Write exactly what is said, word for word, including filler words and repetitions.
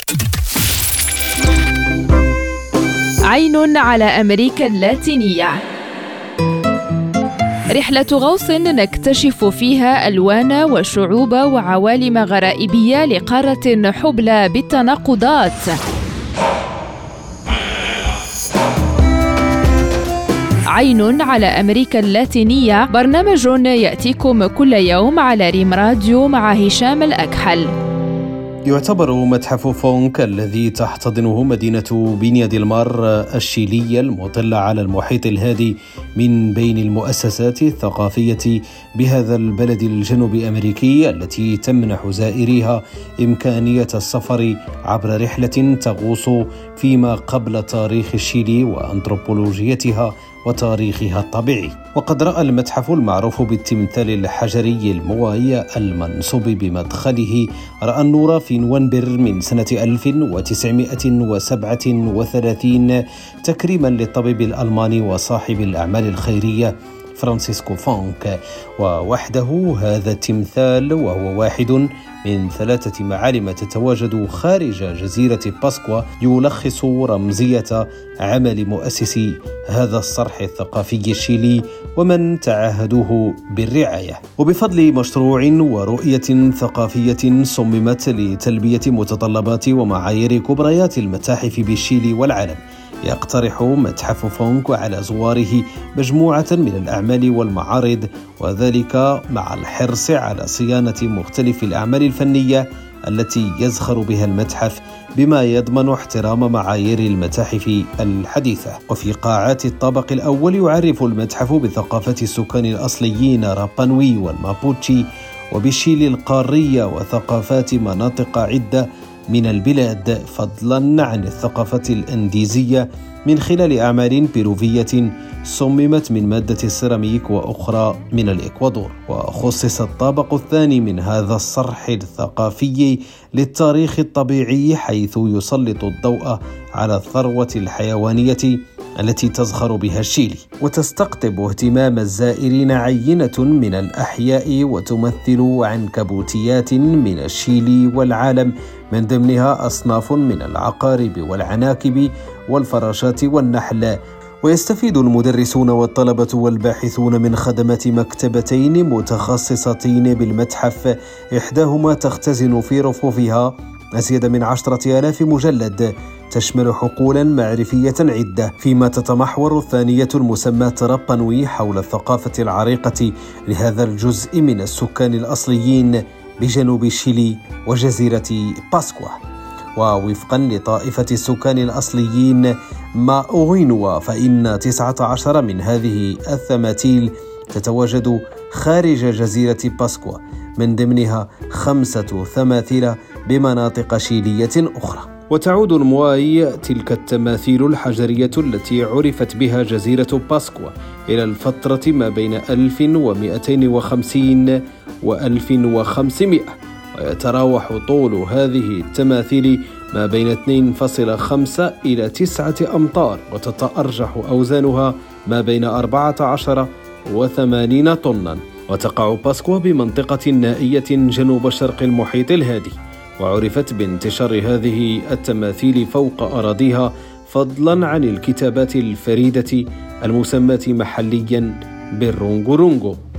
عين على أمريكا اللاتينية، رحلة غوص نكتشف فيها ألوان وشعوب وعوالم غرائبية لقارة حبلى بالتناقضات. عين على أمريكا اللاتينية، برنامج يأتيكم كل يوم على ريم راديو مع هشام الأكحل. يعتبر متحف فونك الذي تحتضنه مدينة بينيا ديل مار الشيلية المطلة على المحيط الهادي من بين المؤسسات الثقافية بهذا البلد الجنوب أمريكي، التي تمنح زائريها إمكانية السفر عبر رحلة تغوص فيما قبل تاريخ الشيلي وأنثروبولوجيتها وتاريخها الطبيعي. وقد رأى المتحف المعروف بالتمثال الحجري المواي المنصوب بمدخله رأى النور في نوفمبر من سنة ألف وتسعمائة وسبعة وثلاثين تكريما للطبيب الألماني وصاحب الأعمال الخيرية فرانسيسكو فونك. ووحده هذا التمثال، وهو واحد من ثلاثة معالم تتواجد خارج جزيرة باسكوا، يلخص رمزية عمل مؤسسي هذا الصرح الثقافي الشيلي ومن تعهدوه بالرعاية. وبفضل مشروع ورؤية ثقافية صممت لتلبية متطلبات ومعايير كبريات المتاحف بالشيلي والعالم، يقترح متحف فونك على زواره مجموعة من الأعمال والمعارض، وذلك مع الحرص على صيانة مختلف الأعمال الفنية التي يزخر بها المتحف، بما يضمن احترام معايير المتاحف الحديثة. وفي قاعات الطابق الأول يعرف المتحف بثقافة السكان الأصليين رابانوي والمابوتشي وبالشيلي القارية وثقافات مناطق عدة من البلاد، فضلا عن الثقافة الأنديزية من خلال أعمال بيروفية صممت من مادة السيراميك وأخرى من الإكوادور. وخصص الطابق الثاني من هذا الصرح الثقافي للتاريخ الطبيعي، حيث يسلط الضوء على الثروة الحيوانية التي تزخر بها الشيلي، وتستقطب اهتمام الزائرين عينة من الأحياء وتمثل عنكبوتيات من الشيلي والعالم، من ضمنها أصناف من العقارب والعناكب والفراشات والنحل. ويستفيد المدرسون والطلبة والباحثون من خدمات مكتبتين متخصصتين بالمتحف، إحداهما تختزن في رفوفها أزيد من عشرة آلاف مجلد تشمل حقولا معرفية عدة، فيما تتمحور الثانية المسماة رابانوي حول الثقافة العريقة لهذا الجزء من السكان الأصليين بجنوب الشيلي وجزيرة باسكوا. ووفقا لطائفة السكان الأصليين ماؤغينوا، فإن تسعة عشر من هذه التماثيل تتواجد خارج جزيرة باسكوا، من ضمنها خمسة تماثيل بمناطق شيلية أخرى. وتعود المواي، تلك التماثيل الحجرية التي عرفت بها جزيرة باسكوا، إلى الفترة ما بين ألف ومئتين وخمسين وألف وخمسمائة، ويتراوح طول هذه التماثيل ما بين اثنين فاصلة خمسة إلى تسعة أمتار، وتتأرجح أوزانها ما بين أربعة عشر وثمانين طنا. وتقع باسكوا بمنطقة نائية جنوب شرق المحيط الهادي، وعرفت بانتشار هذه التماثيل فوق أراضيها، فضلا عن الكتابات الفريدة المسماة محليا بالرونغورونغو.